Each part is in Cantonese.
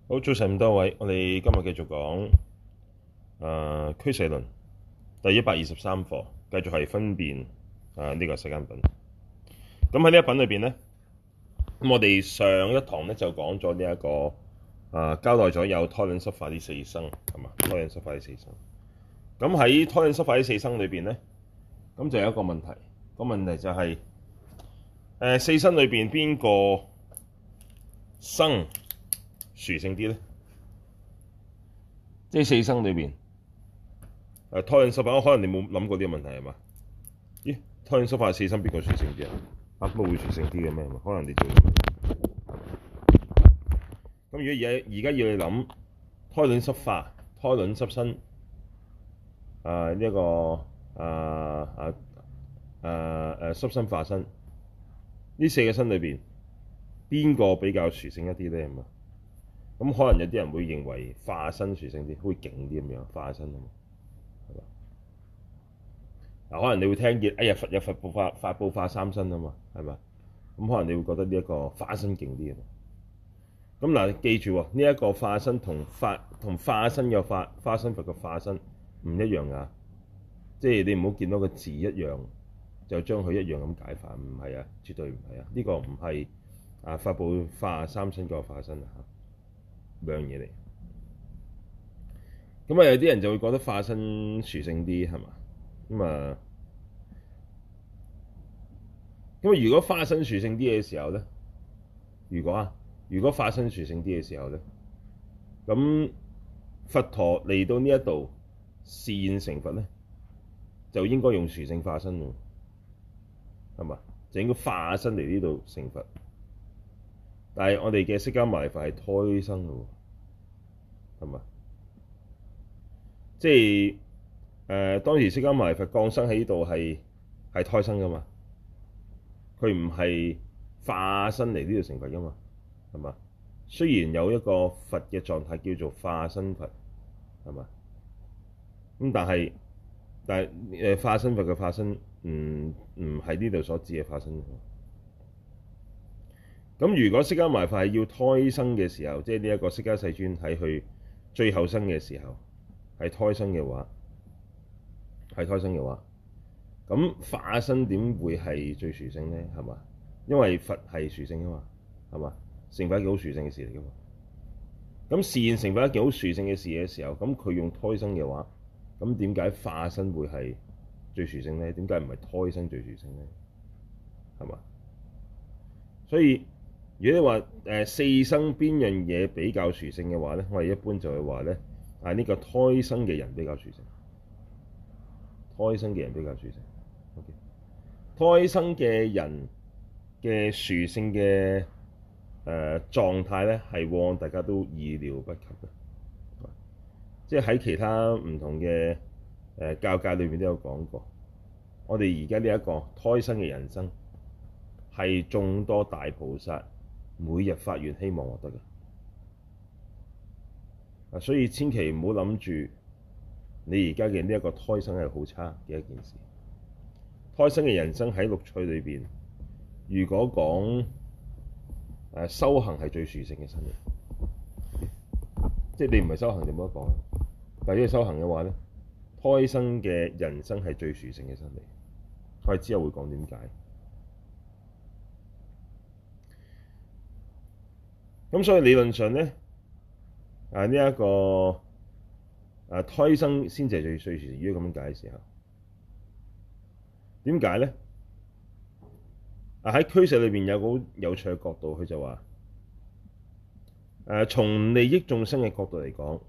好，早晨咁多位，我哋今日繼續講俱舍論第123課，繼續係分辨呢個世間品。咁喺呢一品裏邊咧，咁我哋上一堂咧就講咗呢一個交代咗有胎卵濕化呢四生，係嘛？胎卵濕化呢四生。咁喺胎卵濕化呢四生裏邊咧，咁就有一個問題，個問題就係四生裏邊邊個生殊勝啲咧？即係四生裏邊，胎卵濕化，可能你冇諗過呢個問題係嘛？咦，胎卵濕化四生邊個殊勝啲啊？乜會殊勝啲嘅咩？可能你做咁。如果而家要你諗胎卵濕化、胎卵濕身呢一個濕身化身呢四個身裏邊，邊個比較殊勝一啲咧？咁可能有啲人會認為化身殊勝啲，會勁啲咁樣化身啊嘛，係嘛？嗱，可能你會聽見，哎呀，佛有佛報化，法報化三身啊嘛，係嘛？咁可能你會覺得呢一個化身勁啲啊嘛。咁嗱，記住喎，呢一個化身同化身嘅化身佛嘅化身唔一樣㗎，即係你唔好見到個字一樣就將佢一樣咁解法，唔係啊，絕對唔係啊，呢個唔係法報化三身個化身啊。兩樣嘢嚟，咁有啲人就會覺得化身殊勝啲，係嘛？咁如果化身殊勝啲嘅時候咧，如果化身殊勝啲嘅時候咧，咁佛陀嚟到呢一度示現成佛咧，就應該用殊勝化身喎，係嘛？就應該化身嚟呢度成佛。但係我哋嘅釋迦牟尼佛係胎生嘅喎，係嘛？即係當時釋迦牟尼佛降生喺呢度係胎生噶嘛，佢唔係化身嚟呢度成佛噶嘛，係嘛？雖然有一個佛嘅狀態叫做化身佛，係嘛？咁但係化身佛嘅化身唔係呢度所指嘅化身。咁如果釋迦牟尼佛係要胎生嘅時候，即係呢一個釋迦世尊喺佢最後生嘅時候係胎生嘅話，咁化身點會係最殊勝咧？係嘛？因為佛係殊勝啊嘛，係嘛？成佛係一件好殊勝嘅事嚟噶嘛。咁示現成佛一件好殊勝嘅事嘅時候，咁佢用胎生嘅話，咁點解化身會係最殊勝咧？點解唔係胎生最殊勝咧？係嘛？所以如果你話四生邊樣嘢比較殊勝嘅話咧，我哋一般就會話咧呢個胎生嘅人比較殊勝，胎生嘅人比較殊勝。OK， 胎生嘅人嘅殊勝嘅狀態咧，係往往大家都意料不及嘅。即係喺其他唔同嘅教界裏面都有講過，我哋而家呢一個胎生嘅人生係眾多大菩薩每日發願希望獲得嘅，所以千祈唔好諗住你而家嘅呢一個胎生係好差嘅一件事。胎生嘅人生喺六趣裏邊，如果講修行係最殊勝嘅身嚟，即係你唔係修行就冇得講。但係如果修行嘅話咧，胎生嘅人生係最殊勝嘅身嚟。我哋之後會講點解。咁所以理論上咧，呢一個胎生先至係最殊勝。如果咁樣解嘅時候，點解咧？喺俱舍裏邊有個好有趣嘅角度，佢就話從利益眾生嘅角度嚟講，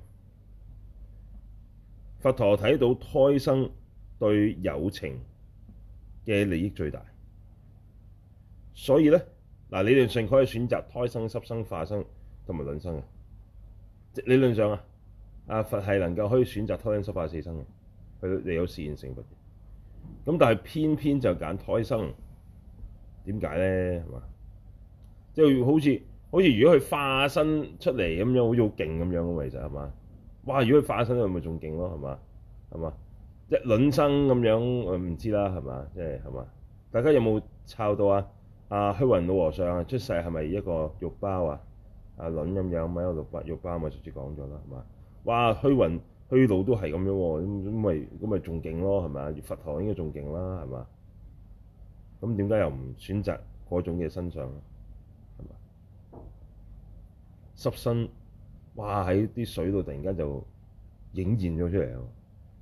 佛陀睇到胎生對有情嘅利益最大，所以咧理論上佢可以選擇胎生、濕生、化生同埋卵生嘅。即理論上佛係能夠可以選擇胎卵濕化四生嘅，佢哋有示現成佛嘅。咁但係偏偏就揀胎生，點解咧？係嘛？即係好似如果佢化身出嚟咁樣，好似好勁咁樣咁，其實係嘛？哇！如果佢化身，佢咪仲勁咯？係嘛？即係卵生咁樣，我唔知啦，係嘛？即係嘛？大家有冇抄到虛雲老和尚出世係咪一個肉包啊？ 輪咁樣，咪有六巴咪直接講咗啦，係嘛？哇，虛雲虛路都係咁樣喎，咁咪仲勁咯，係咪？佛陀應該仲勁啦，係嘛？咁點解又唔選擇嗰種嘅身相咧？係嘛？濕身，哇喺啲水度突然間就影現咗出嚟啊！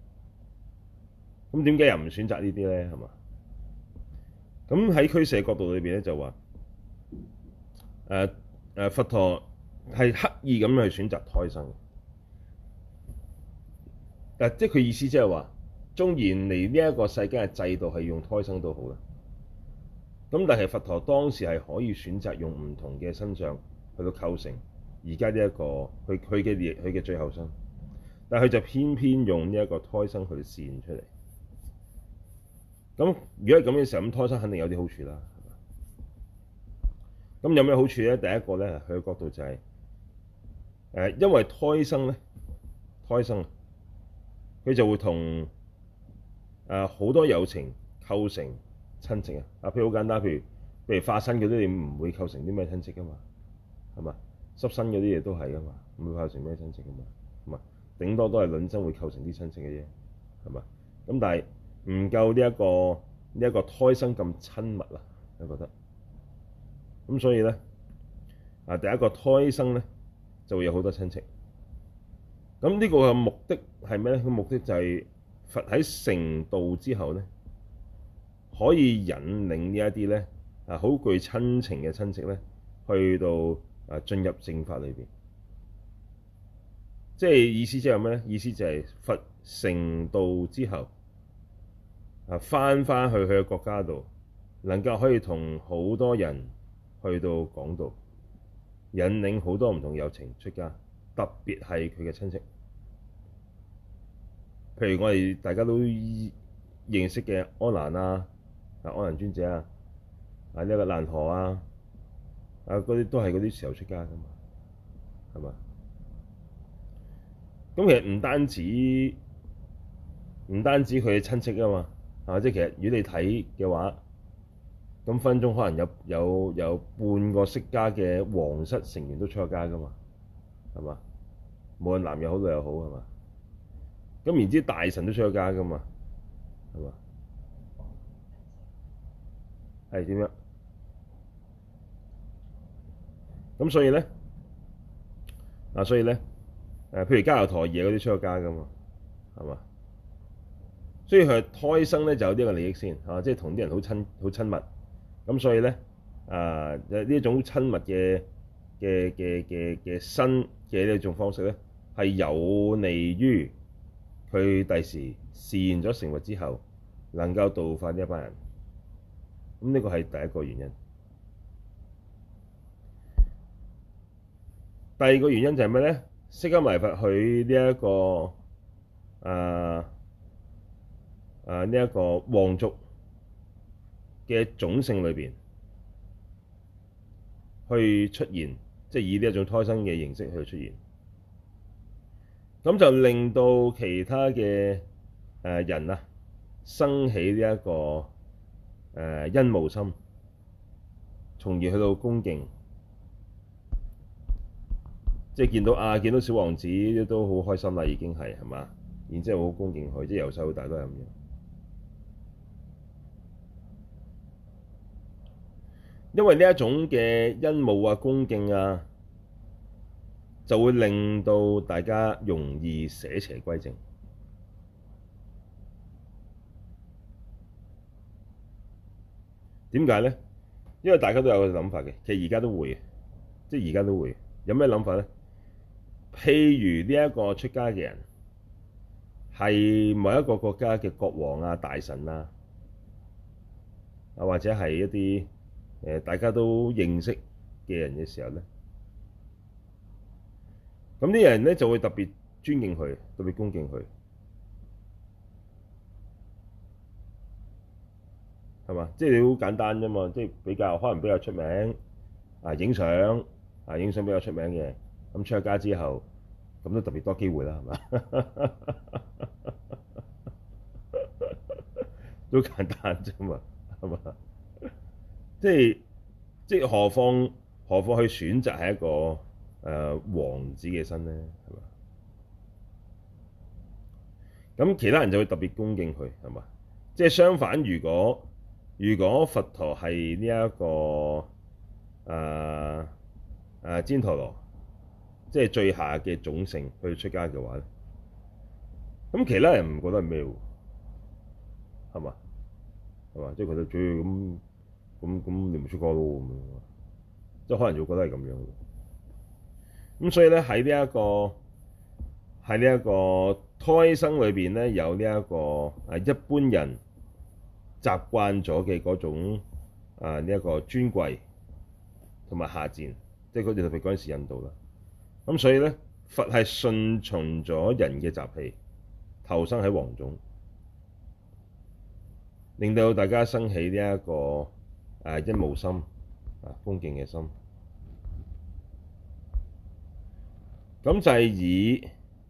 咁點解又唔選擇呢啲咧？係嘛？咁喺俱舍角度裏邊咧就話佛陀係刻意咁去選擇胎生嘅，即係佢意思即係話，縱然嚟呢一個世間嘅制度係用胎生都好啦，咁但係佛陀當時係可以選擇用唔同嘅身相去到構成而家呢一個佢嘅最後生，但係佢就偏偏用呢一個胎生去示現出嚟。咁如果係咁嘅時候，咁胎生肯定有啲好處啦。咁有咩好處咧？第一個咧，佢嘅角度就係因為胎生佢就會同好多有情構成親戚啊。譬如好簡單，譬如化身嗰啲，你唔會構成啲咩親戚噶嘛，係嘛？濕身嗰啲嘢都係噶嘛，唔會構成咩親戚噶嘛，係嘛？頂多都係卵生會構成啲親戚嘅啫，係嘛？咁但係唔夠呢一個胎生咁親密啊，你覺得？咁所以咧第一個胎生咧就會有好多親戚。咁呢個嘅目的係咩咧？個目的就係佛喺成道之後咧，可以引領呢一啲咧好具親情嘅親戚咧，去到進入正法裏邊。即係意思即係咩咧？意思就係佛成道之後返去佢嘅國家度，能夠可以同好多人去到講道，引領好多唔同有情出家，特別係佢嘅親戚。譬如我哋大家都認識嘅阿難阿難尊者呢一個難陀嗰啲都係嗰啲時候出家噶嘛，係嘛？咁其實唔單止佢嘅親戚啊嘛，即係其實如果你睇嘅話，咁分鐘可能有半個釋迦嘅皇室成員都出咗家噶嘛，係嘛？無論男又好女又好，係嘛？咁然之大臣都出咗家噶嘛，係嘛？係點樣？咁所以咧譬如迦葉陀耶嗰啲出咗家噶嘛，係嘛？所以佢胎生咧就有呢個利益先，即係同啲人好親密。咁所以咧呢一種親密嘅身嘅呢一種方式咧，係有利於佢第時示現咗成佛之後，能夠度化呢一班人。咁呢個係第一個原因。第二個原因就係咩咧？釋迦牟尼佛佢呢一個呢一個皇族嘅種姓裏邊去出現，即係以呢一種胎生嘅形式去出現，咁就令到其他嘅人生起呢一個欣慕心，從而去到恭敬，即係見到小王子都好開心啦，已經係嘛？然之後好恭敬佢，即係由細到大都係咁樣。因為呢一種嘅欣慕恭敬就會令到大家容易捨邪歸正。點解咧？因為大家都有個諗法嘅，其實而家都會，即係而家都會有咩諗法咧？譬如呢一個出家嘅人係某一個國家嘅國王大臣或者係一啲大家都認識嘅人嘅時候咧，咁啲人咧就會特別尊敬佢，特別恭敬佢，係嘛？即係你好簡單啫嘛，即係可能比較出名影相比較出名嘅，咁出咗家之後，咁都特別多機會啦，係嘛？都簡單啫嘛，係嘛？即係何況去選擇係一個王子嘅身咧？係嘛？咁其他人就會特別恭敬佢，係嘛？即係相反，如果佛陀係呢一個旃陀羅，即係最下嘅種姓去出家嘅話咧，咁其他人唔覺得係咩喎？係嘛？係嘛？即係覺得主要咁你唔出家咯咁樣，即係可能就會覺得係咁樣。咁所以咧喺呢一個胎生裏邊咧，有呢一個一般人習慣咗嘅嗰種呢一個尊貴同埋下賤，即係佢哋特別嗰陣時印度啦。咁所以咧，佛係順從咗人嘅習氣，投生喺王種，令到大家生起呢一個欣慕心恭敬嘅心。咁就係以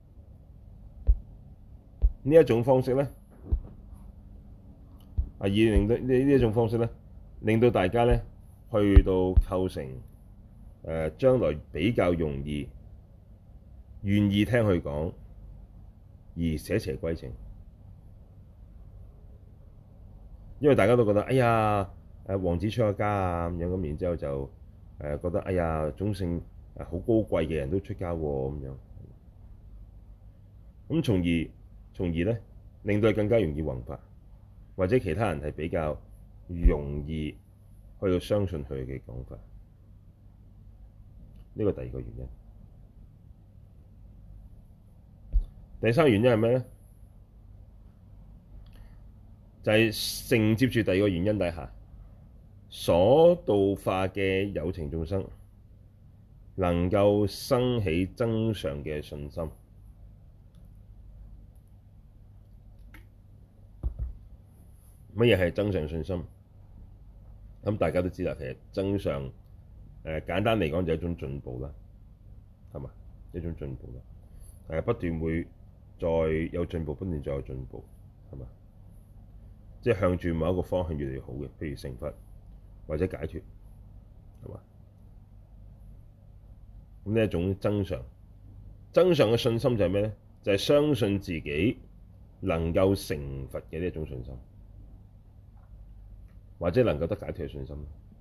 呢一種方式咧，以令到呢一種方式咧，令到大家咧去到構成將來比較容易願意聽佢講而捨邪歸正，因為大家都覺得哎呀王子出咗家啊咁樣，咁然之後就覺得哎呀種姓好高貴嘅人都出家喎咁樣，咁從而咧令到佢更加容易弘法，或者其他人係比較容易去到相信佢嘅講法。呢個第二個原因。第三個原因係咩咧？就係承接住第二個原因底下所度化嘅有情眾生能夠生起增上嘅信心。乜嘢係增上信心？咁大家都知啦，其實增上簡單嚟講就係一種進步啦，係嘛？一種進步啦，不斷會再有進步，不斷再有進步，係嘛？即係向住某一個方向越嚟越好嘅，譬如成佛或者解脫，係嘛？咁呢一種增上嘅信心就係咩咧？就係相信自己能夠成佛嘅呢一種信心，或者能夠得解脫嘅信心。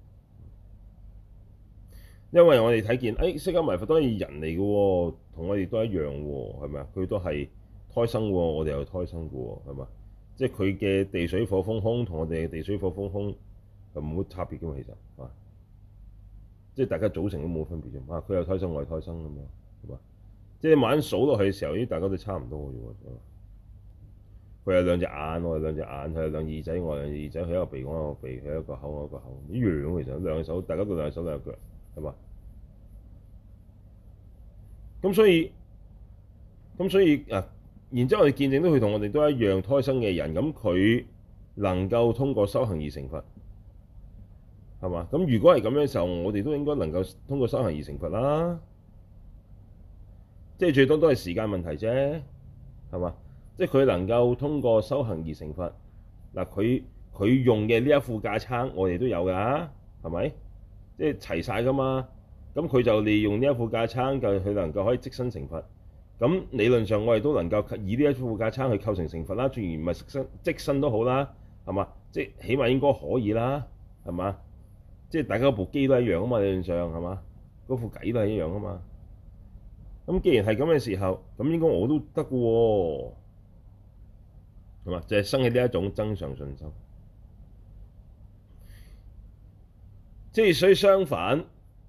因為我哋睇見，釋迦牟尼佛都係人嚟嘅喎，同我哋都一樣喎，係咪啊？佢都係胎生喎，我哋又胎生嘅喎，係嘛？即係佢嘅地水火風空同我哋嘅地水火風空係冇乜差別嘅嘛，其實啊，即係大家組成都冇分別啫。佢又胎生，我係胎生咁樣，係嘛？即係你慢慢數落去嘅時候，大家都差唔多嘅啫喎。佢有兩隻眼，我有兩隻眼；佢有兩耳仔，我有兩隻耳仔；佢有一個鼻，我有一個鼻；佢有一個口，我有一個口，一樣其實。兩隻手，大家都兩隻手兩隻腳，係嘛？咁所以然之後我哋見證到佢同我哋都一樣胎生嘅人，咁佢能夠通過修行而成佛，係嘛？咁如果係咁樣嘅時候，我哋都應該能夠通過修行而成佛啦。即係最多都係時間問題啫，係嘛？即係佢能夠通過修行而成佛，嗱佢用嘅呢一副架撐，我哋都有㗎，係咪？即係齊晒㗎嘛。咁佢就利用呢一副架撐，就佢能夠可以即身成佛。咁理論上我哋都能夠以呢一副架撐去構成成佛啦，雖然唔係即身都好啦，係嘛？即係起碼應該可以啦，係嘛？即係大家部機都一樣啊嘛，理論上係嘛？嗰副偈都係一樣啊嘛。咁既然係咁嘅時候，咁應該我都得嘅喎，係嘛？就係生起呢一種增上信心。即係所以相反，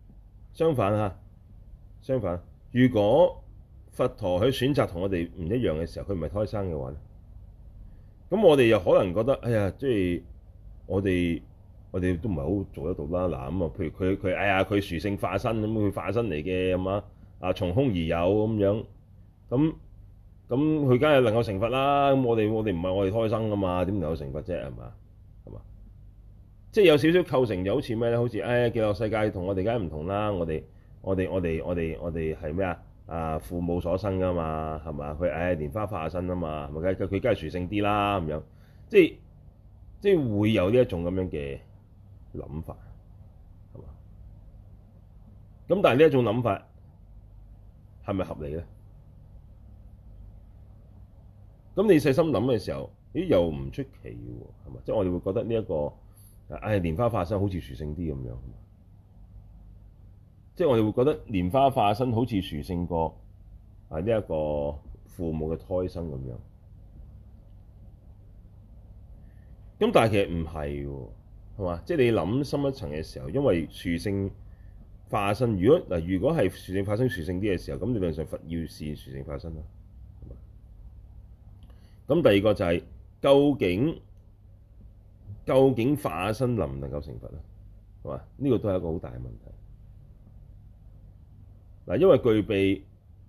如果佛陀去選擇同我哋唔一樣嘅時候，佢唔係胎生嘅話咧，咁我哋又可能覺得，哎呀，即係我哋都唔係好做得到啦。嗱咁啊，譬如佢哎呀，佢殊勝化身咁，佢化身嚟嘅咁啊，從空而有咁樣，咁佢梗係能夠成佛啦。咁我哋唔係我哋胎生噶嘛，點能夠成佛啫？係嘛？即係有少少構成，就好似咩咧？好似極樂世界同我哋梗係唔同啦。我哋係咩啊？父母所生噶嘛，係嘛？佢蓮花化身啊嘛，係咪？佢梗係殊勝啲啦咁樣。即係會有呢一種咁樣嘅諗法，係嘛？咁但係呢一種諗法係咪合理咧？咁你細心諗嘅時候，咦又唔出奇嘅喎，係嘛？即係我哋會覺得呢一個蓮花化身好似殊勝啲咁樣，即係我哋會覺得蓮花化身好似殊勝過呢一個父母嘅胎生咁樣。咁但係其實唔係喎，係嘛？即係你諗深一層嘅時候，因為殊勝化身，如果係殊勝化身殊勝啲嘅時候，咁理論上佛要示殊勝化身啦。咁第二個就係、究竟化身能唔能夠成佛咧？係嘛？呢個都係一個好大嘅問題。嗱，因為具備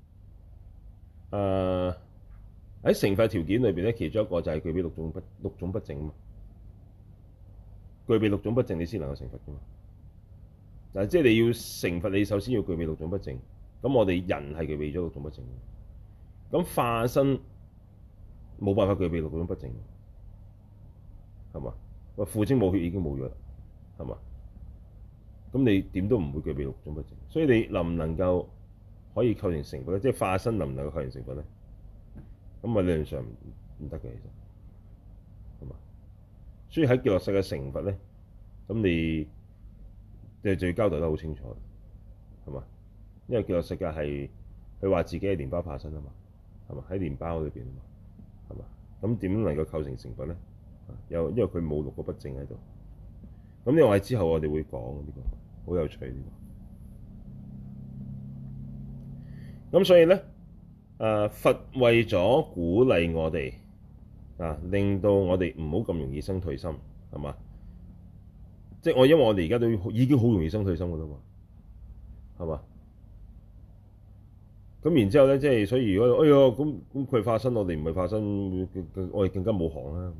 喺成佛條件裏邊咧，其中一個就係具備六種不淨啊嘛。具備六種不淨，你先能夠成佛噶嘛。嗱，即係你要成佛，你首先要具備六種不淨。咁我哋人係具備咗六種不淨。咁化身冇辦法具備六種不淨，係嘛？喂，父精母血已經冇咗啦，係嘛？咁你點都唔會具備六種不淨，所以你能唔能夠可以構成成佛咧？即係化身能唔能夠構成成佛咧？咁啊理論上唔得嘅，其實係嘛？所以喺極樂世界成佛咧，咁你就要交代得好清楚，係嘛？因為極樂世界係佢話自己係蓮花化身啊嘛，係嘛？喺蓮包裏邊啊嘛。係嘛？咁點能夠構成成佛咧？因為佢冇六個不淨喺度。咁呢個係之後我哋會講呢個，好有趣呢個。咁所以咧，佛為咗鼓勵我哋令到我哋唔好咁容易生退心，係嘛？即係因為我哋而家都已經好容易生退心㗎啦嘛，係嘛？咁然之後咧，即係所以如果咁佢化身，我哋唔係化身，我哋更加冇行啦。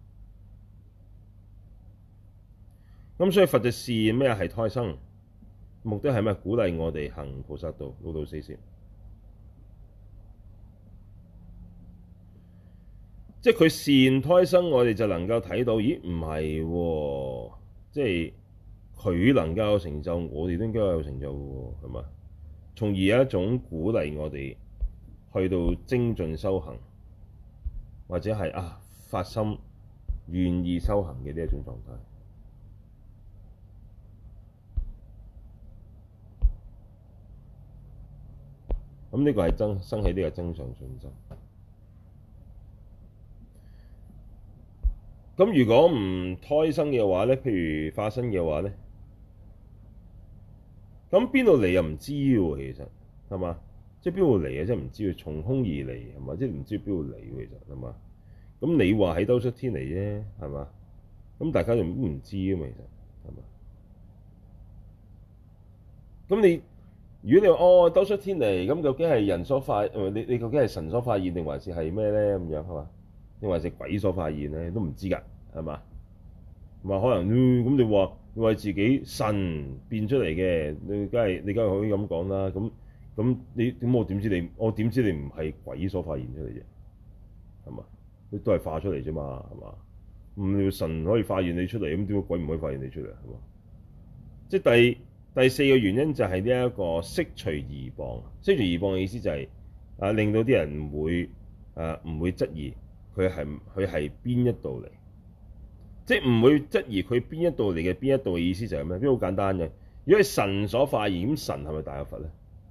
咁所以佛就示咩係胎生，目的係咩？鼓勵我哋行菩薩道，老道四攝。即係佢示胎生，我哋就能夠睇到，咦？唔係喎，即係佢能夠有成就，我哋都應該有成就喎，係嘛？從而有一種鼓勵我哋去到精進修行，或者係發心願意修行嘅呢一種狀態。咁呢個係生起呢個增上信心。咁如果唔胎生嘅話咧，譬如化身嘅話咧，咁邊度嚟又唔知喎，其實係嘛？即係邊度嚟啊？即係唔知喎，從空而嚟係嘛？即係唔知邊度嚟喎，其實係嘛？咁你話喺兜率天嚟啫，係嘛？咁大家就唔知啊嘛，其實係嘛？咁你如果你話兜率天嚟，咁究竟係人所化？你究竟係神所化現定還是係咩咧？咁樣係嘛？定還是鬼所化現咧？都唔知㗎，係嘛？話可能咁你話自己神變出嚟嘅，你梗係可以咁講啦。咁我點知你唔係鬼所發現出嚟啫？係嘛？你都係化出嚟啫嘛，係嘛？咁你神可以發現你出嚟，咁點解鬼唔可以發現你出嚟？係嘛？即係第四個原因就係呢一個釋除疑謗。釋除疑謗嘅意思就係令到啲人唔會質疑佢係邊一度嚟。即係唔會質疑佢邊一度嚟嘅邊一度嘅意思就係咩？邊好簡單嘅。如果係神所化現，咁神係咪大有佛咧？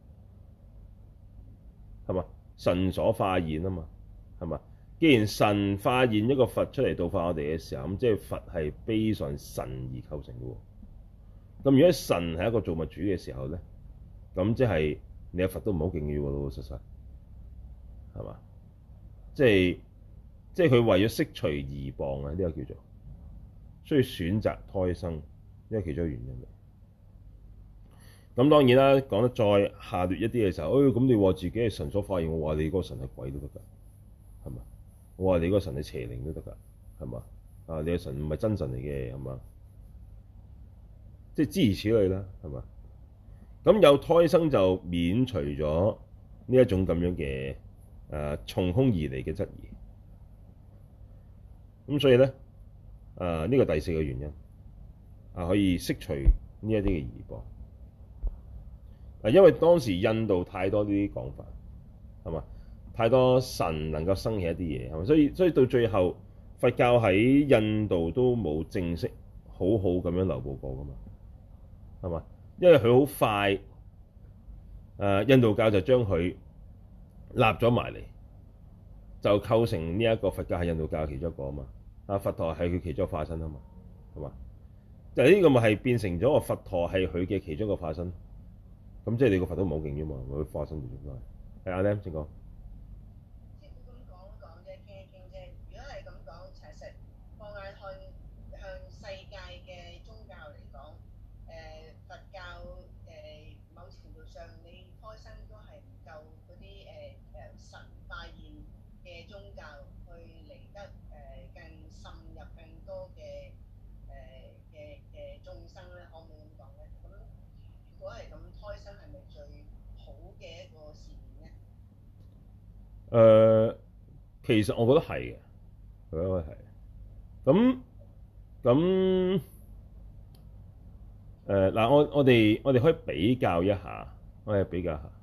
係嘛？神所化現啊嘛，係嘛？既然神化現一個佛出嚟度化我哋嘅時候，咁即係佛係悲上神而構成嘅喎。咁如果神係一個造物主嘅時候咧，咁即係你嘅佛都唔好敬要喎，老老實實係嘛？即係佢為咗釋除疑謗啊，呢個叫做。所以選擇胎生，因為其中一個原因嚟。咁當然啦，講得再下劣一啲嘅時候，咁你話自己係神所化現，我話你嗰個神係鬼都得㗎，係嘛？我話你嗰個神係邪靈都得㗎，係嘛？你嘅神唔係真神嚟嘅，係嘛？即係諸如此類啦，係嘛？咁有胎生就免除咗呢一種咁樣嘅從空而嚟嘅質疑。咁所以咧。呢個第四個原因可以釋除呢一啲嘅疑謗。 因為當時印度太多呢啲講法，係嘛？太多神能夠生起一啲嘢，係嘛？所以到最後，佛教喺印度都冇正式好好咁樣流布過㗎嘛，係嘛？因為佢好快，印度教就將佢立咗埋嚟，就構成呢一個佛教係印度教其中一個啊嘛。佛陀係佢其中一個化身啊嘛，係嘛？就呢個咪係變成咗個佛陀係佢嘅其中一個化身。咁即係你個佛都唔好勁啫嘛，佢化身嚟做咩？係阿 Lam 先講。 即係咁講講啫，傾一傾啫。如果係咁講，其實放眼向世界嘅宗教嚟講，佛教某程度上你開生都係唔夠嗰啲神化現嘅宗教去嚟得更滲入更多嘅眾生咧，可唔可以咁講咧？咁如果係咁，胎生係咪最好嘅一個事件咧？ 其實我覺得係嘅，我覺得係。咁嗱，我哋可以比較一下，我哋比較下。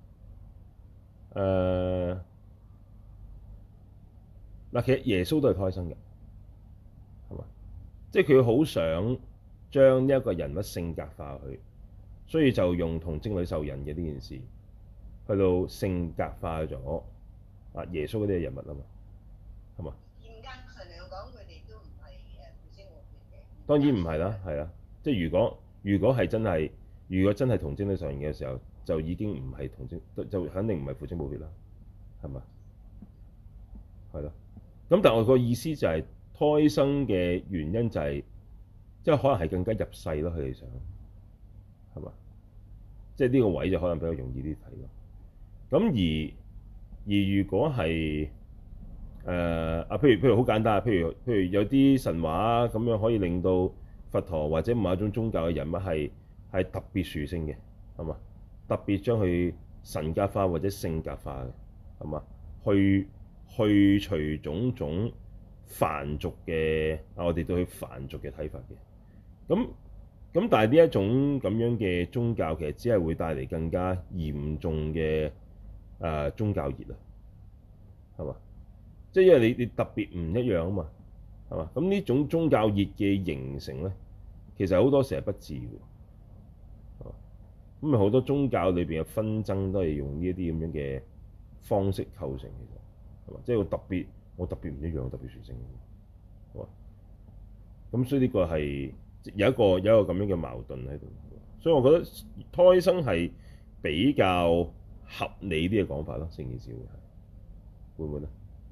嗱，其實耶穌都係胎生嘅，係嘛？即係佢好想將呢一個人物性格化佢，所以就用童貞女受孕嘅呢件事，去到性格化咗耶穌嗰啲嘅人物啊嘛，係嘛？ 嚴格上嚟講，佢哋都唔係父精母血嘅。 當然唔係啦，係啦，即係如果係真係，如果真係童貞女受孕嘅時候，就已經唔係童貞，就肯定唔係父精母血啦，係嘛？係咯。咁但係我個意思就係胎生嘅原因就係，即係可能係更加入世咯，佢哋想係嘛？即係呢個位就可能比較容易啲睇咯。咁而如果係譬如好簡單，譬如有啲神話咁樣可以令到佛陀或者某一種宗教嘅人物係特別殊勝嘅，係嘛？特別將佢神格化或者聖格化嘅，係嘛？去除種種凡俗嘅我哋對佢凡俗嘅睇法嘅。咁但係呢一種咁樣嘅宗教其實只係會帶嚟更加嚴重嘅宗教熱啊，係嘛？即係因為你特別唔一樣啊嘛，係嘛？咁呢種宗教熱嘅形成咧，其實好多時係不治嘅，咁咪好多宗教裏邊嘅紛爭都係用呢一啲咁樣嘅方式構成，其實係嘛？即係我特別唔一樣，特別殊勝，係嘛？咁所以呢個係有一個咁樣嘅矛盾喺度，所以我覺得胎生係比較合理啲嘅講法咯，成件事會唔會咧？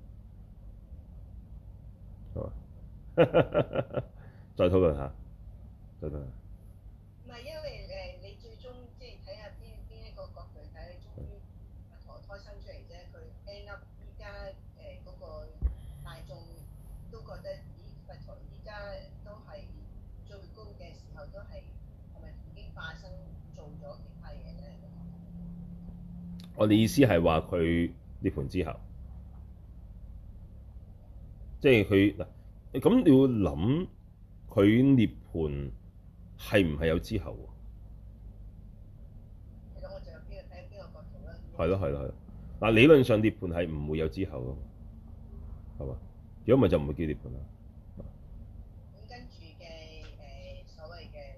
係嘛？再討論下，再討論下。 唔係因為你最終即係睇下邊一個角度睇，終於佛陀胎生出嚟啫。佢 end up 依家嗰個大眾都覺得，咦，佛陀依家都係最高嘅時候，都係咪已經化身做咗其他嘢咧？ 我哋意思係話佢涅槃之後。即係佢嗱，咁你要諗佢涅槃係唔係有之後喎？ 其實我就睇邊個角度啦。 係咯。嗱，理論上涅槃係唔會有之後噶嘛，係嘛？如果唔係就唔會叫涅槃啦。 咁跟住嘅所謂嘅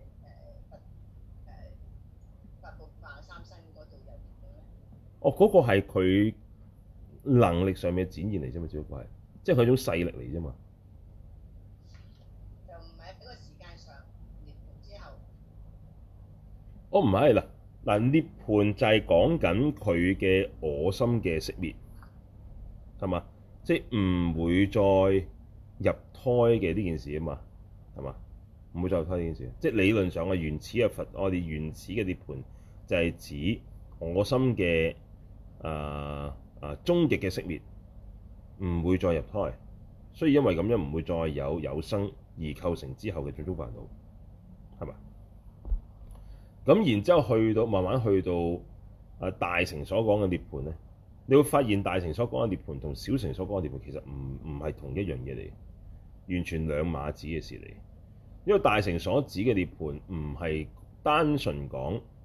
佛法化三身嗰度又點咧？ 嗰個係佢能力上面嘅展現嚟啫嘛，只不過係。即係佢種勢力嚟啫嘛， 就唔係喺個時間上涅槃之後。 唔係啦，嗱涅槃就係講緊佢嘅我心嘅熄滅，係嘛？即係唔會再入胎嘅呢件事啊嘛，係嘛？唔會再入胎呢件事，即係理論上嘅原始嘅佛，我哋原始嘅涅槃就係指我心嘅終極嘅熄滅。唔會再入胎，所以因為咁樣唔會再有生而構成之後嘅種種煩惱，係嘛？咁然之後慢慢去到大乘所講嘅涅槃咧，你會發現大乘所講嘅涅槃同小乘所講嘅涅槃其實唔係同一樣嘢嚟，完全兩碼子嘅事嚟。因為大乘所指嘅涅槃唔係單純講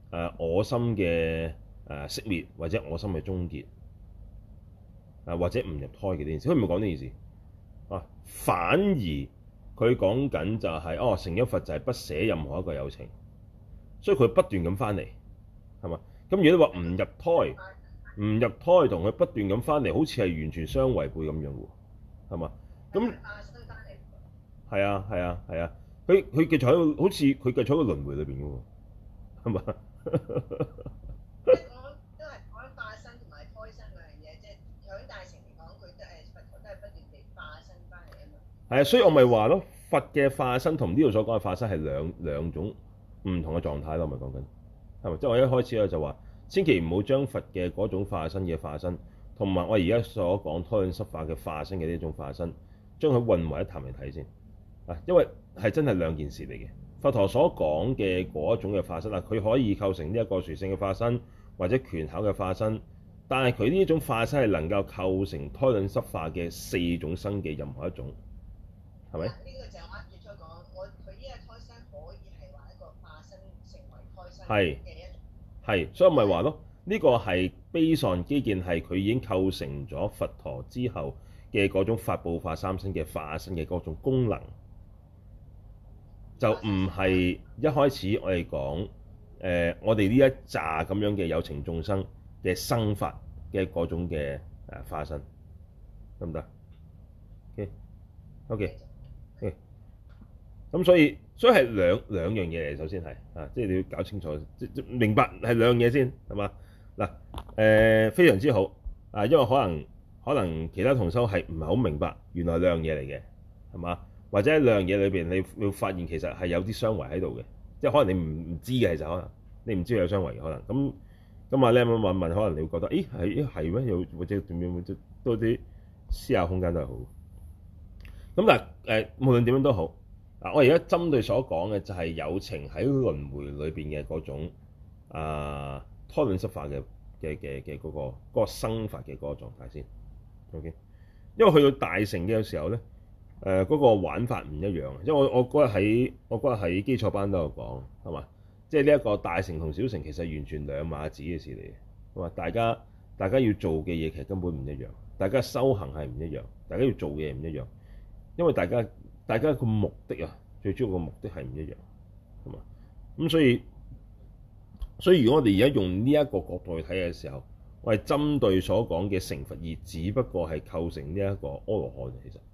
我心嘅熄滅，或者我心嘅終結，或者唔入胎嘅呢件事，佢唔係講呢件事啊，反而佢講緊就係、成一佛就係不捨任何一個有情，所以佢不斷咁翻嚟，係嘛？咁如果你話唔入胎，唔入胎同佢不斷咁翻嚟，好似係完全相違背咁樣喎，係嘛？咁化身翻嚟， 係啊係啊係啊，佢繼續喺個好似佢繼續喺個輪迴裏邊嘅喎，係嘛？ 即係講都係講化身同埋胎生兩樣嘢，即係響大乘嚟講，佢都係佛陀都係不斷地化身翻嚟啊嘛。 係啊，所以我咪話咯，佛嘅化身同呢度所講嘅化身係兩種唔同嘅狀態咯，我咪講緊係咪？即係我一開始咧就話，千祈唔好將佛嘅嗰種化身嘅化身，同埋我而家所講胎卵濕化嘅化身嘅呢種化身，將佢混為一談嚟睇先啊，因為係真係兩件事嚟嘅。佛陀所講嘅嗰種嘅化身啊，佢可以構成呢一個殊勝嘅化身，或者權巧嘅化身，但係佢呢一種化身係能夠構成胎卵濕化嘅4種生嘅任何一種，係咪？ 呢個就係我啱最初講，佢呢個胎身可以係話一個化身成為胎身嘅一種。 係，所以我咪話咯，呢個係悲上基建係佢已經構成咗佛陀之後嘅嗰種法報化三身嘅化身嘅嗰種功能。就唔係一開始我哋講我哋呢一紮咁樣嘅有情眾生嘅生法嘅嗰種嘅化身，得唔得？OK，咁所以係兩樣嘢嚟，首先係即係你要搞清楚，明白係兩樣嘢先，係嘛？嗱非常之好因為可能其他同修係唔係好明白，原來兩樣嘢嚟嘅，係嘛？或者喺兩樣嘢裏邊，你會發現其實係有啲相違喺度嘅，即係可能你唔知嘅，其實可能你唔知有相違嘅可能。咁阿 Lam 問，可能你會覺得，咦係咩？又或者點樣？多啲思考空間都係好。咁但係無論點樣都好，我而家針對所講嘅就係有情喺輪迴裏邊嘅嗰種胎卵濕化嘅嗰個生法嘅嗰個狀態先。OK， 因為去到大乘嘅時候咧。嗰個玩法唔一樣，因為我嗰日喺基礎班都有講，係嘛？即係呢一個大乘同小乘其實完全兩碼子嘅事嚟嘅，係嘛？大家要做嘅嘢其實根本唔一樣，大家修行係唔一樣，大家要做嘅嘢唔一樣，因為大家個目的最主要個目的係唔一樣，係嘛？咁所以如果我哋而家用呢一個角度去睇嘅時候，我係針對所講嘅成佛而只不過係構成呢一個阿羅漢，其實。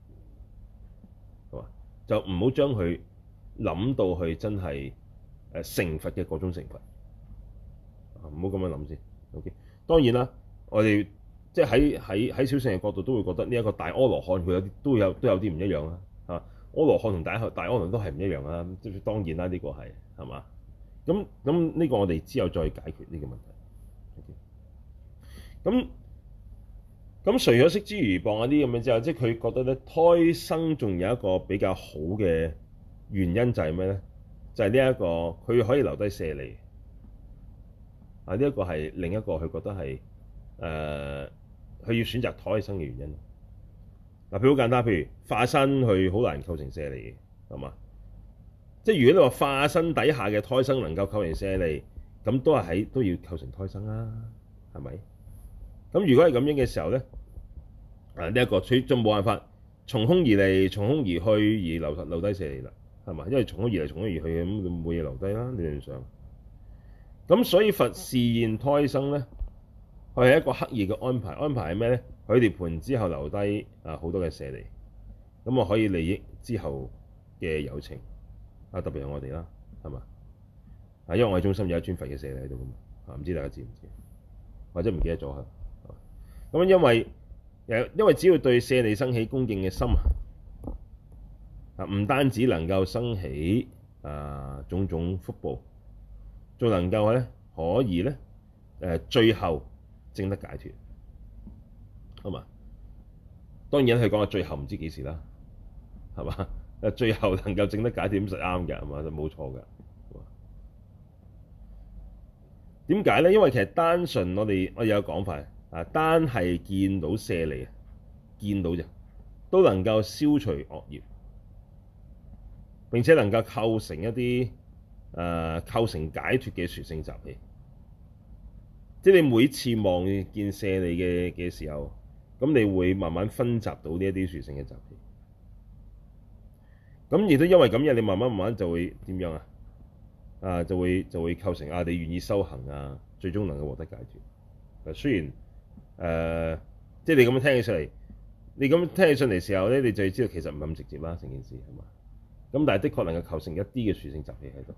就唔好將佢諗到去真係成佛嘅嗰種成佛，唔好咁樣諗先。OK， 當然啦，我哋即係喺小乘嘅角度都會覺得呢一個大阿羅漢佢都有啲唔一樣啦。阿羅漢同大阿羅都係唔一樣啦。即係當然啦，呢個係嘛？咁呢個我哋之後再解決呢個問題。OK，咁除咗釋諸如棒嗰啲咁嘅之後，即係佢覺得咧胎生仲有一個比較好嘅原因就係咩咧？就係呢一個佢可以留低舍利。呢一個係另一個佢覺得係佢要選擇胎生嘅原因。譬如好簡單，譬如化身佢好難構成舍利嘅，係嘛？即係如果你話化身底下嘅胎生能夠構成舍利，咁都要構成胎生啦，係咪？咁如果係咁樣嘅時候咧，呢一個佢就冇辦法從空而嚟，從空而去而留低舍利啦，係嘛？因為從空而嚟，從空而去咁冇嘢留低啦，理論上。咁所以佛示現胎生咧，佢係一個刻意嘅安排。安排係咩咧？佢涅槃之後留低好多嘅舍利，咁可以利益之後嘅有情特別係我哋啦，係嘛？因為我哋中心有一尊佛嘅舍利喺度噶嘛，唔知大家知唔知？或者唔記得咗嚇？咁因為只要對舍利生起恭敬嘅心唔單止能夠生起種種福報，仲能夠咧可以咧最後證得解脫，係嘛？當然佢講嘅最後唔知幾時啦，係嘛？最後能夠證得解脫咁實啱嘅，係嘛？就冇錯嘅。點解咧？因為其實單純我哋有講法單係見到舍利見到啫，都能夠消除惡業，並且能夠構成一啲構成解脫嘅殊勝習氣。即係你每次望見舍利嘅時候，咁你會慢慢分集到呢一啲殊勝嘅習氣。咁亦都因為咁樣，你慢慢就會點樣啊？就會構成你願意修行啊，最終能夠獲得解脫。雖然即係你咁樣聽起上嚟，嘅時候咧，你就要知道其實唔係咁直接啦，成件事係嘛？咁但係的確能夠構成一啲嘅殊勝習氣喺度。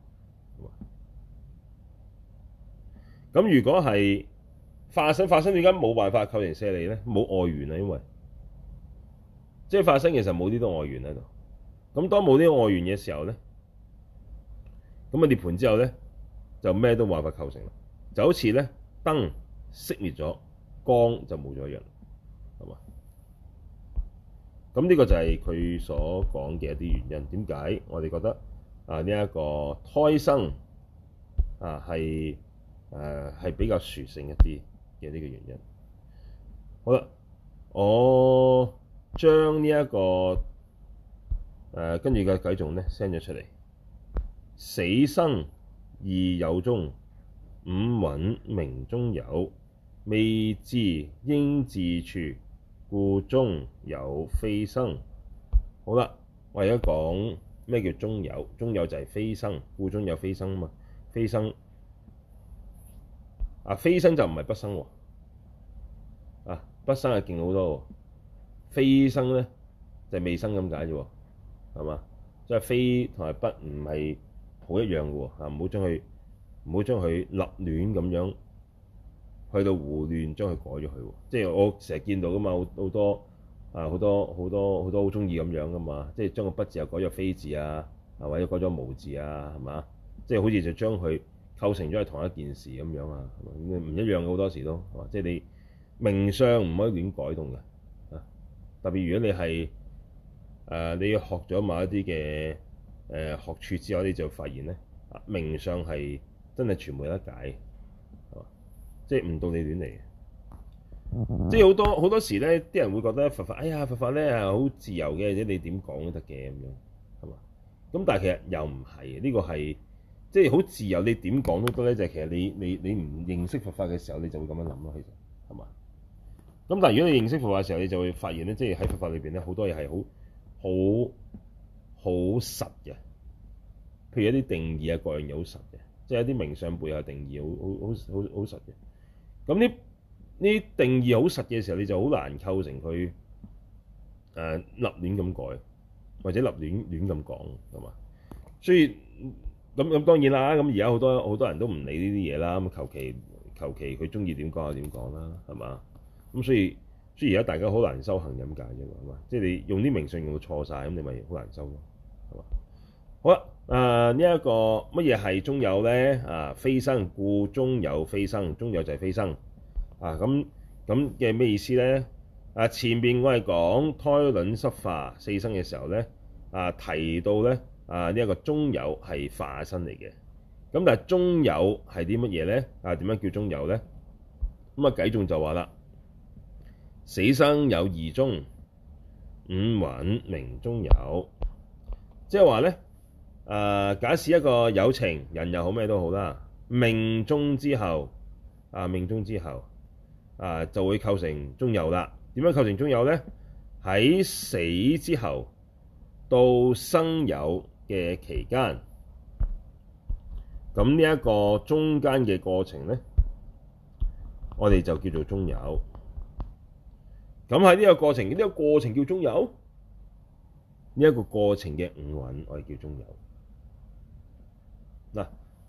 咁如果係化身點解冇辦法構成舍利咧？冇外緣啊，因為即係化身其實冇呢啲外緣喺度。咁當冇呢啲外緣嘅時候咧，咁啊涅槃之後咧，就咩都冇辦法構成啦。就好似咧燈熄滅咗，光就冇咗一樣，係嘛？咁呢個就係佢所講嘅一啲原因。點解我哋覺得呢一個胎生係比較殊勝一啲嘅呢個原因？好啦，我將呢一個跟住嘅偈頌咧 send 咗出嚟。死生二有中，五蘊名中有，未至應至處，故中有非生。好啦，我而家講咩叫中有？中有就係非生，故中有非生啊嘛。非生非生就唔係不生喎。不生係勁好多喎。非生咧就係未生咁解啫喎，係嘛？即係非同埋不唔係好一樣嘅喎。唔好將佢立亂咁樣去到胡亂將佢改咗佢喎。即係我成日見到噶嘛，好多好中意咁樣噶嘛。即係將個不字又改咗非字啊，或者改咗無字啊，係嘛？即係好似就將佢構成咗係同一件事咁樣啊，唔一樣嘅好多時都係嘛？即係你名相唔可以亂改動嘅。特別如果你係你要學咗某一啲嘅學處之後，你就發現咧名相係真係全部有得解，係嘛？即係唔到你亂嚟嘅。即係好多時咧，啲人會覺得佛法，佛法咧係好自由嘅，即你點講都得嘅咁樣，係嘛？咁但係其實又唔係，呢個係即係好自由，你點講都得咧。就係其實你唔認識佛法嘅時候，你就會咁樣諗咯，其實係嘛？咁但係如果你認識佛法嘅時候，你就會發現咧，即係喺佛法裏邊咧，好多嘢係好實嘅。譬如一啲定義各樣嘢好實嘅，即係一啲名相背後定義好實嘅。咁呢定義好實嘅時候，你就好難構成佢立亂咁改，或者立亂咁講，係嘛？所以咁當然啦。咁而家好多人都唔理呢啲嘢啦。咁求其佢中意點講就點講啦，係嘛？咁所以而家大家好難修行咁解啫嘛。即係你用啲名相用到錯晒，咁你咪好難修咯，係嘛？好啦，呢一個乜嘢係中有咧？非生，故中有非生。中有就係非生。咁嘅咩意思咧？前面我係講胎卵濕化四生嘅時候咧，提到咧呢一個中有係化身嚟嘅。咁但係中有係啲乜嘢咧？點樣叫中有咧？咁偈頌就話啦，死生有二中，五蘊名中有。即係話咧，假使一個有情人又好咩都好啦，命終之後就會構成中有啦。點樣構成中有咧？喺死之後到生有嘅期間，咁呢一個中間嘅過程咧，我哋就叫做中有。咁喺呢個過程，叫中有。呢一個過程嘅五蘊，我哋叫中有。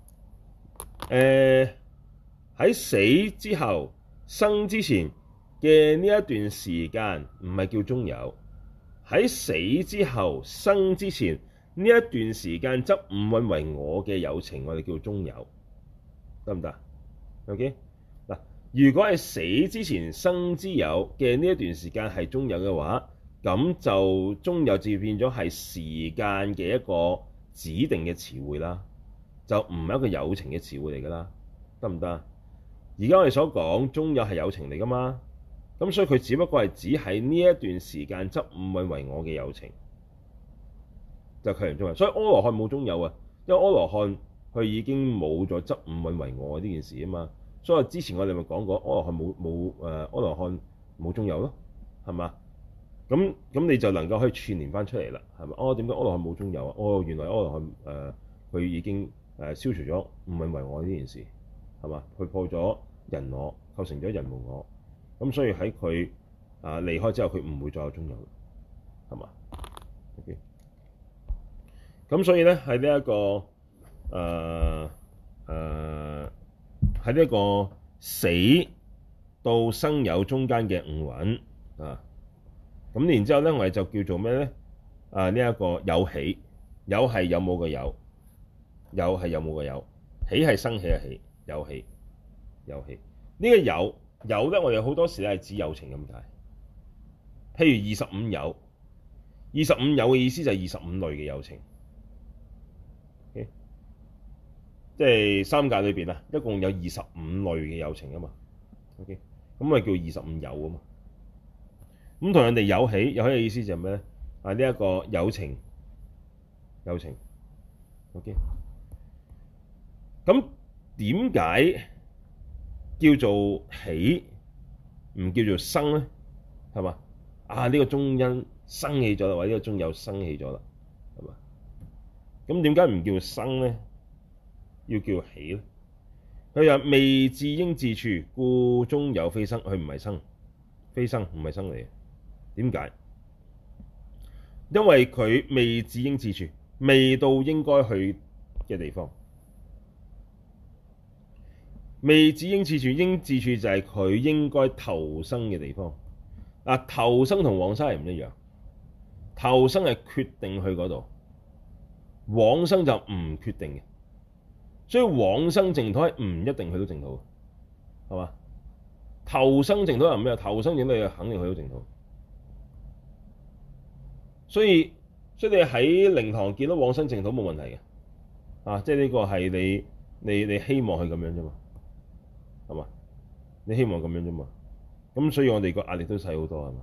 喺死之後生之前嘅呢一段時間唔係叫中有，喺死之後生之前呢一段時間執五蘊為我嘅有情，我哋叫中有，得唔得？OK 嗱，如果係死之前生之有嘅呢一段時間係中有嘅話，咁就中有就變咗係時間嘅一個指定嘅詞彙啦，就唔係一個有情嘅詞彙嚟噶啦，得唔得？而家我哋所講中有係有情嚟噶嘛，咁所以佢只不過係指喺呢一段時間執五蘊為我嘅有情，就構成中有。所以阿羅漢冇中有啊，因為阿羅漢佢已經冇咗執五蘊為我呢件事啊嘛。所以之前我哋咪講過，阿羅漢阿羅漢冇中有咯，係嘛？咁你就能夠可以串連翻出嚟啦，係咪？哦，點解阿羅漢冇中有啊？哦，原來阿羅漢佢已經消除咗五蘊為我呢件事，係嘛？佢破咗人我，構成咗人無我，咁所以喺佢離開之後，佢唔會再有中有，係嘛？OK，咁所以咧喺呢一個喺呢一個死到生有中間嘅五蘊啊，咁然之後咧，我哋就叫做咩咧？呢一個有喜，有係有冇嘅有，有係有冇嘅有，喜係生起嘅喜，有喜有喜。呢個有咧，我哋好多時咧係指有情咁解。譬如25有，25有嘅意思就係25類嘅有情。Okay? 即係三界裏邊啊，一共有25類嘅有情啊嘛。OK， 咁咪叫25有啊嘛。咁同人哋有喜，有喜嘅意思就係咩咧？呢一個有情。OK， 咁點解叫做喜唔叫做生咧？係嘛？呢個中因生起咗啦，或者呢個中有生起咗啦，係嘛？咁點解唔叫生咧？要叫喜咧？佢話未至應至處，故中有非生。佢唔係生，非生唔係生嚟嘅。點解？因為佢未至應至處，未到應該去嘅地方。未至應至處，應至處就係佢應該投生嘅地方。投生同往生係唔一樣。投生係決定去嗰度，往生就唔決定嘅。所以往生淨土係唔一定去到淨土，係嘛？投生淨土係咩？投生淨土係肯定去到淨土。所以你喺靈堂見到往生淨土冇問題嘅，即係呢個係你希望係咁樣啫嘛，係嘛？你希望咁樣啫嘛，咁所以我哋個壓力都細好多，係嘛？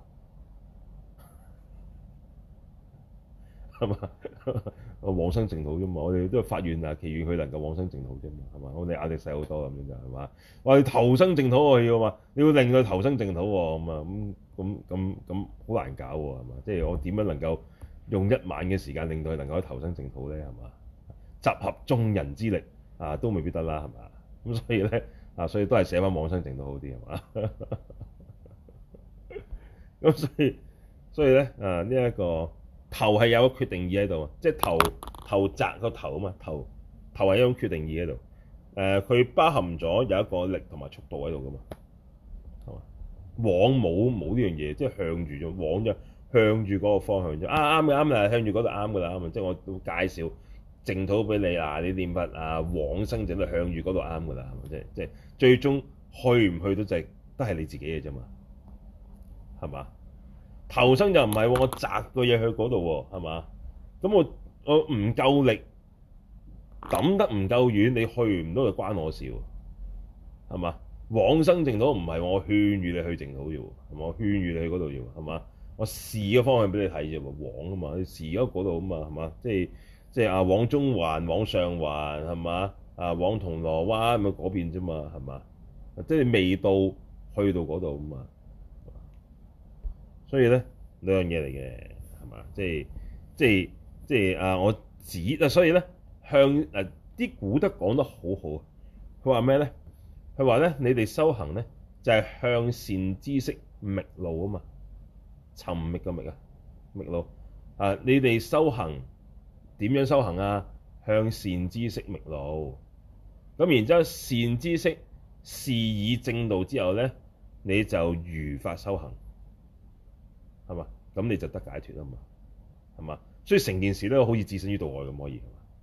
係嘛？往生淨土啫嘛，我哋都係發願祈願佢能夠往生淨土啫嘛，係嘛？我哋壓力細好多咁樣就係嘛？我哋投生淨土喎要嘛？你要令佢投生淨土喎，咁好難搞喎，係嘛？即係我點樣能夠用1晚嘅時間令到佢能夠投生淨土咧？係嘛？集合眾人之力都未必得啦，係嘛？咁所以咧所以都係寫翻往生淨土好啲，係嘛？咁所以咧呢一個投係有個決定意喺度，即係投擲個投啊嘛，投係一種決定意喺度。佢包含咗有一個力同埋速度喺度噶嘛，係嘛？往冇呢樣嘢，即係向住咗往就向住嗰個方向啫。啱啦，向住嗰度啱噶啦，啱啊！即係我都介紹淨土俾你你念佛往生淨土向住嗰度啱噶啦，係咪？即係最終去唔去到都係你自己嘅啫嘛，係嘛？投生就唔係喎，我擲個嘢去嗰度喎，係嘛？咁我唔夠力，抌得唔夠遠，你去唔到就關我事喎，係嘛？往生淨土唔係我勸喻你去淨土啫喎，係嘛？我勸喻你去嗰度啫喎，係嘛？我示個方向俾你睇啫喎，往啊嘛，你示咗嗰度啊嘛，係嘛？即係往中環、往上環係嘛？往銅鑼灣咁嗰邊啫嘛，係嘛？即係未到去到嗰度啊嘛。所以咧兩樣嘢嚟嘅，係嘛？即係我指所以咧向啲古德講得好好。佢話咩咧？佢話咧，你哋修行咧就係向善知識覓路啊嘛，尋覓嘅覓覓路你哋修行點樣修行啊？向善知識覓路。咁然之後善知識示以正道之後咧，你就如法修行。係嘛？咁你就得解脫啊嘛，係嘛？所以成件事都好似置身於度外咁可以，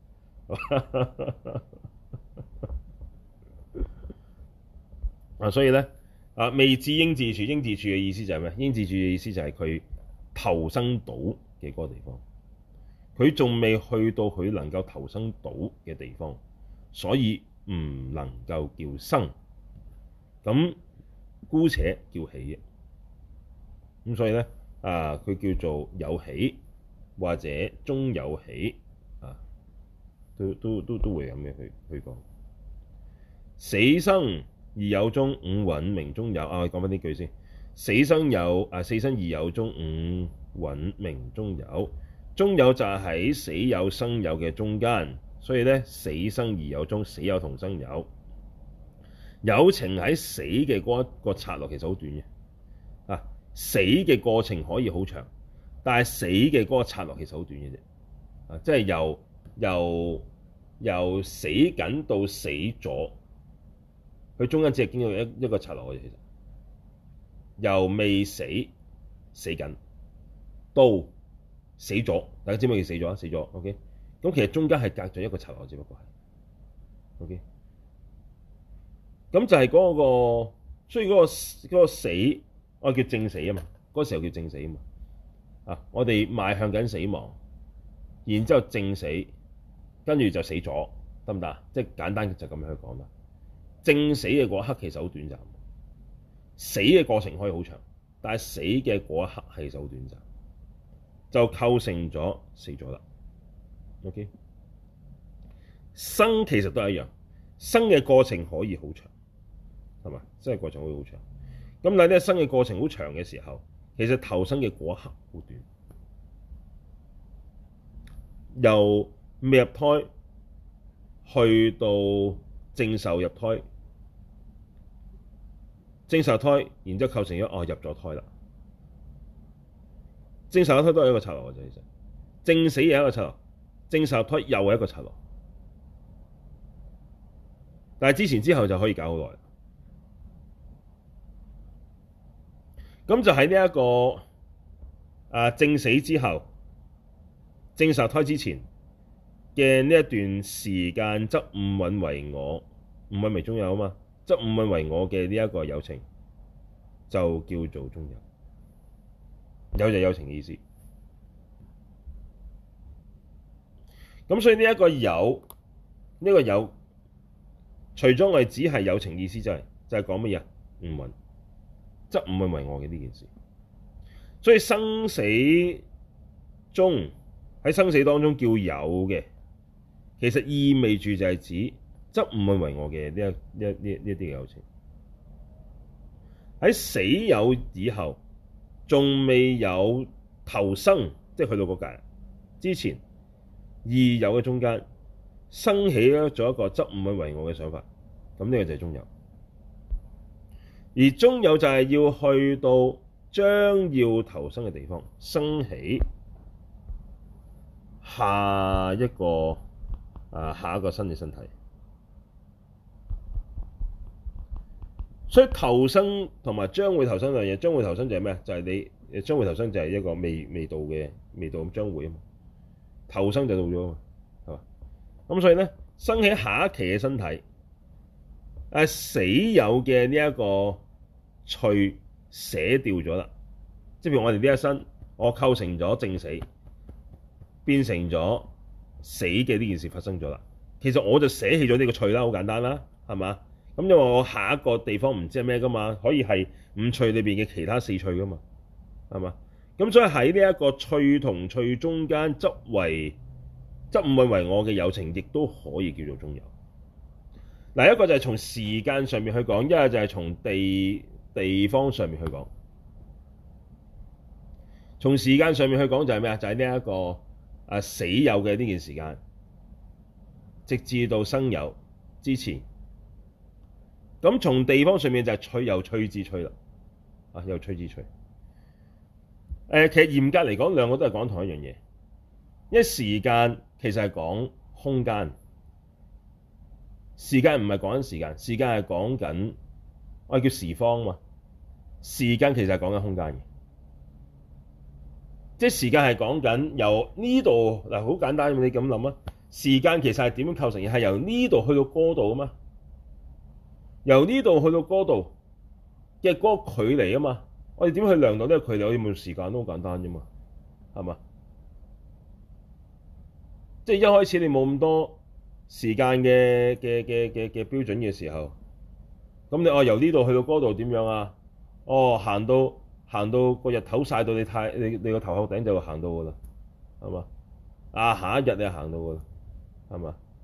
係嘛？所以咧未至應至處，應至處嘅意思就係咩？應至處嘅意思就係佢投生到嘅嗰個地方，佢仲未去到佢能夠投生到嘅地方，所以唔能夠叫生，咁姑且叫喜嘅。咁所以咧佢叫做有喜或者中有喜都都會咁嘅去講。死生二有中，五蘊名中有。我講翻呢句先。死生二有中，五蘊名中有。中有就係喺死有生有嘅中間，所以咧死生二有中，死有同生有。有情喺死嘅嗰一個剎那其實好短嘅。死嘅過程可以好長，但係死嘅嗰個剎那其實好短嘅啫。即係由死緊到死咗，佢中間只係經過一個剎那嘅啫。其實由未死死緊到死咗，大家知唔知佢死咗啊？死咗 ，OK。咁其實中間係隔咗一個剎那，只不過係 OK。咁就係嗰個，所以嗰個死，我叫正死啊嘛。嗰時候叫正死啊嘛。我哋邁向緊死亡，然之後正死，跟住就死咗，得唔得啊？即係簡單就咁樣去講啦。正死嘅嗰一刻其實好短暫，死嘅過程可以好長，但係死嘅嗰一刻係就好短暫，就構成咗死咗啦。OK， 生其實都係一樣，生嘅過程可以好長，係嘛？生嘅過程可以好長。咁但係呢，生嘅過程好長嘅時候，其實投生嘅嗰一刻好短，由未入胎去到正受入胎，正受胎，然之後構成咗入咗胎啦。正受入胎都係一個剎那嘅啫，其實正死又係一個剎那，正受入胎又係一個剎那，但係之前之後就可以搞好耐。咁就喺呢一個正死之後，正受胎之前嘅呢一段時間，則五蘊為我，五蘊為中有啊嘛，則五蘊為我嘅呢一個有情，就叫做中有。有就有情嘅意思。咁所以呢一個有，除咗我哋只係有情意思，就係講乜嘢？五蘊，則五蘊為我嘅呢件事。所以生死中，喺生死當中叫有嘅，其實意味住就係指則五蘊為我嘅呢一啲嘅有情。喺死有以後，仲未有投生，即係去到嗰界之前，二有嘅中間生起咗一個則五蘊為我嘅想法，咁呢個就係中有。而中有就係要去到將要投生嘅地方，生起下一個新嘅身體。所以投生同埋將會投生兩樣嘢，將會投生就係咩？就係你將會投生就係一個未到咁將會啊嘛，投生就到咗啊嘛，係嘛？咁所以咧，生起下一期嘅身體，死有嘅呢一個趣捨掉咗啦，即係譬如我哋呢一生，我構成咗正死，變成咗死嘅呢件事發生咗啦。其實我就捨棄咗呢個趣啦，好簡單啦，係嘛？咁因為我下一個地方唔知係咩噶嘛，可以係五趣裏邊嘅其他四趣噶嘛，係嘛？咁所以喺呢一個趣同趣中間，則五蘊為我嘅有情，亦都可以叫做中有。嗱，一個就係從時間上面去講，一個就係從地方上面去講。從時間上面去講就係咩啊？就係呢一個死有嘅呢件時間，直至到生有之前。咁從地方上面就係趣，由趣至趣啦，由趣至趣。其實嚴格嚟講，兩個都係講同一樣嘢。因為時間其實係講空間，時間唔係講緊時間，時間係講緊我哋叫時方嘛。時間其實係講緊空間嘅，即係時間係講緊由呢度嗱，好簡單，你咁諗啊。時間其實係點樣構成嘅？係由呢度去到嗰度啊嘛。由呢度去到嗰度嘅嗰個距離啊嘛，我哋點去量度呢個距離？我哋用時間都好簡單啫嘛，係嘛？即係一開始你冇咁多時間嘅標準嘅時候，咁你由呢度去到嗰度點樣啊？行到個日頭曬到你個頭殼頂就會行到噶啦，係嘛？下一日你就行到噶啦，係嘛？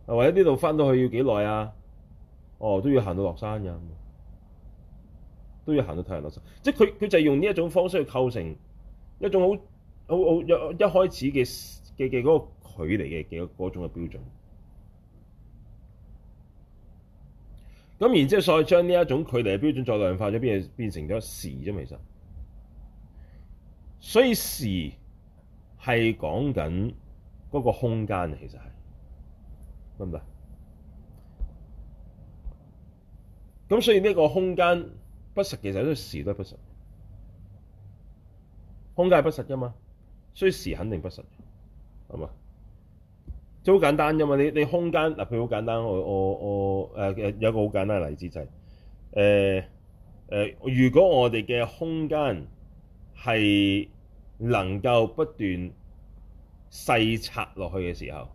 或者呢度翻到去要幾耐啊？哦，都要行到落山㗎，都要行到太陽落山。即係佢就係用呢一種方式去構成一種好一開始嘅嗰個距離嘅嗰種嘅標準。咁然之後再將呢一種距離嘅標準再量化咗，變成咗時啫，其實。所以時係講緊嗰個空間，其實係得唔得？咁所以呢個空間不實，其實都時都係不實。空間係不實㗎嘛，所以時肯定不實，係嘛？即係好簡單啫嘛。你空間嗱，譬如好簡單，我有一個好簡單嘅例子就係如果我哋嘅空間係能夠不斷細拆落去嘅時候，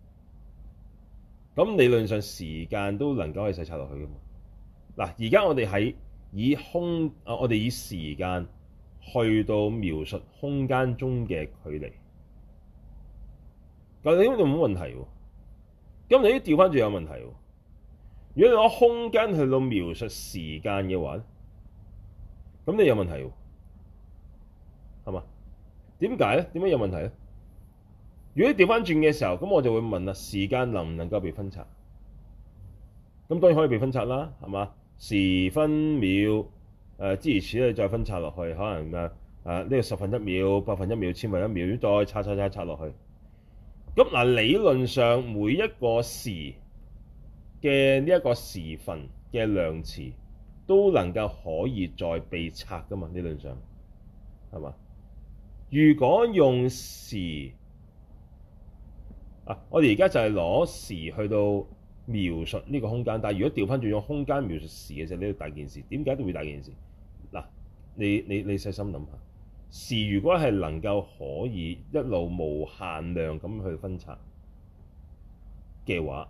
咁理論上時間都能夠係細拆落去㗎嘛。嗱，而家我哋我哋以時間去到描述空間中嘅距離，咁你呢度冇問題喎。咁你調翻轉有問題喎。如果你攞空間去到描述時間嘅話，咁你有問題喎，係嘛？點解咧？點解有問題咧？如果你調翻轉嘅時候，咁我就會問啦：時間能唔能夠被分拆？咁當然可以被分拆啦，係嘛？時分秒諸如此類再分拆落去，可能呢個十分一秒、百分一秒、千分一秒，再拆落去。咁嗱，理論上每一個時嘅呢一個時分嘅量詞都能夠可以再被拆噶嘛？理論上係嘛？如果用時我哋而家就係攞時去到描述呢個空間，但係如果調翻轉用空間描述時嘅時候，呢個大件事。點解都會大件事？嗱，你細心諗下，時如果係能夠可以一路無限量咁去分拆嘅話，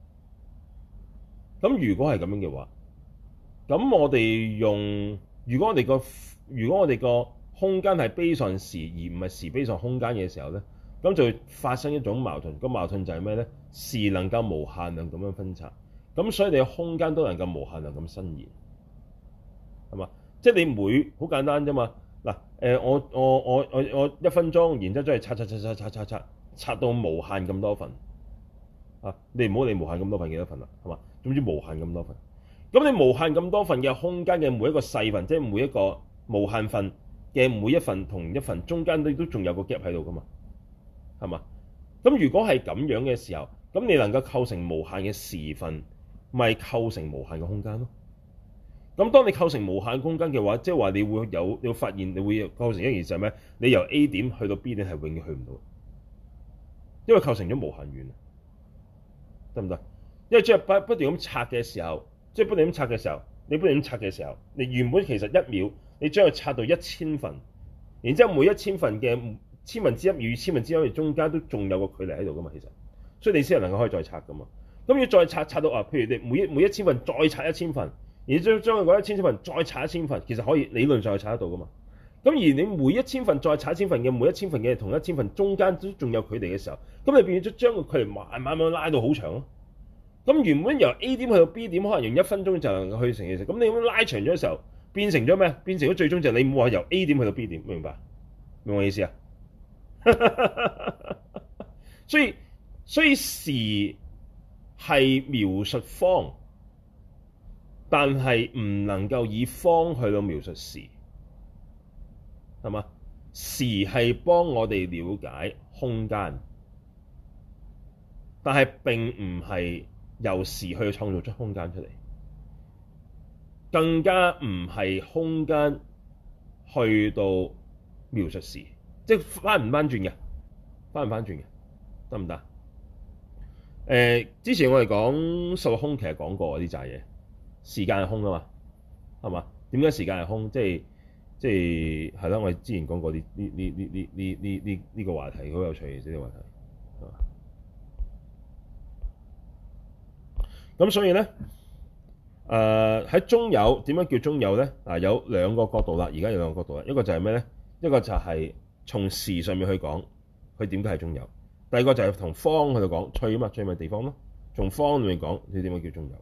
咁如果係咁樣嘅話，咁我哋用如果我哋個空間係 based on時而唔係時 based on空間嘅時候咧，咁就會發生一種矛盾。個矛盾就係咩咧？時能夠無限量咁樣分拆，咁所以你嘅空間都能夠無限量咁伸延，係嘛？即係你好簡單啫嘛。嗱，我1分鐘，然之後將係拆到無限咁多份啊！你唔好理無限咁多份幾多份啦，係嘛？總之無限咁多份。咁你無限咁多份嘅空間嘅每一個細份，即係每一個無限份嘅每一份同一份中間都仲有個 gap 喺度噶嘛，係嘛？咁如果係咁樣嘅時候，咁你能夠構成無限嘅時份，咪構成無限嘅空間咯。咁當你構成無限空間嘅話，即係話你會發現你會構成一件事係咩？你由 A 點去到 B 點係永遠去唔到，因為構成咗無限遠，得唔得？因為即係不斷咁拆嘅時候，你不斷咁拆嘅時候，你原本其實1秒你將佢拆到1000份，然之後每1000份嘅千分之一秒與千分之一秒中間都仲有個距離喺度噶嘛，其實，所以你先係能夠可以再拆噶嘛。咁要再拆到譬如你每1000份再拆1000份。而將佢嗰1000份再拆1000份，其實可以理論上係拆得到噶嘛。咁而你每1000份再拆1000份嘅每1000份嘅同1000份中間都仲有距離嘅時候，咁你變咗將個距離慢慢拉到好長咯。咁原本由 A 點去到 B點，可能用1分鐘就能夠去成嘅時候，咁你咁拉長咗嘅時候，變成咗咩？變成咗最終就係你冇話由 A 點去到 B 點，明白我意思啊？所以時係描述方。但係唔能夠以方去到描述時，係嘛？時係幫我哋了解空間，但係並唔係由時去創造出空間出嚟，更加唔係空間去到描述時，即係翻唔翻轉嘅，得唔得？之前我哋講數學空，其實講過啲雜嘢。時間係空啊嘛，係嘛？點解時間係空？即係啦，我哋之前講過呢個話題，好有趣嘅呢個話題，係嘛？咁所以咧，喺中有點樣叫中有咧？有兩個角度啦，而家有兩個角度啦，一個就係咩咧？一個就係從時上面去講，佢點解係中有；第二個就係從方去度講，趣啊嘛，趣咪地方咯， 從方裏面講，你點樣叫中有？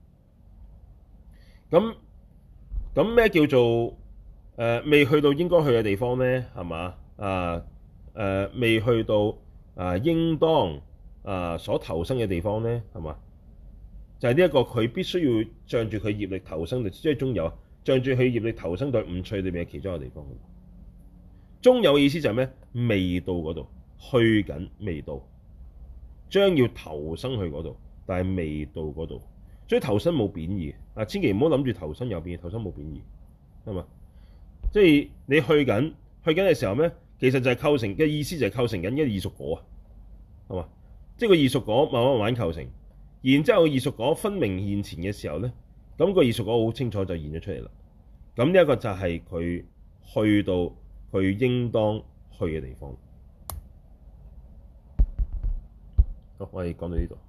咁咩叫做未去到應該去嘅地方咧？係嘛？未去到應當所投生嘅地方咧？係嘛？就係呢一個佢必須要仗住佢業力投生，即係中有，仗住佢業力投生到五趣裏面嘅其中一個地方。中有嘅意思就係咩？未到嗰度，去緊未到，將要投生去嗰度，但係未到嗰度。所以投生冇貶義千祈唔好諗住投生有貶義，投生冇貶義，係嘛？即係你去緊嘅時候咩？其實就係構成嘅意思，就係構成緊一個異熟果啊，係嘛？即係個異熟果慢慢構成，然之後個異熟果分明現前嘅時候咧，咁個異熟果好清楚就現咗出嚟啦。咁呢一個就係佢去到佢應當去嘅地方。好，我哋講到呢度。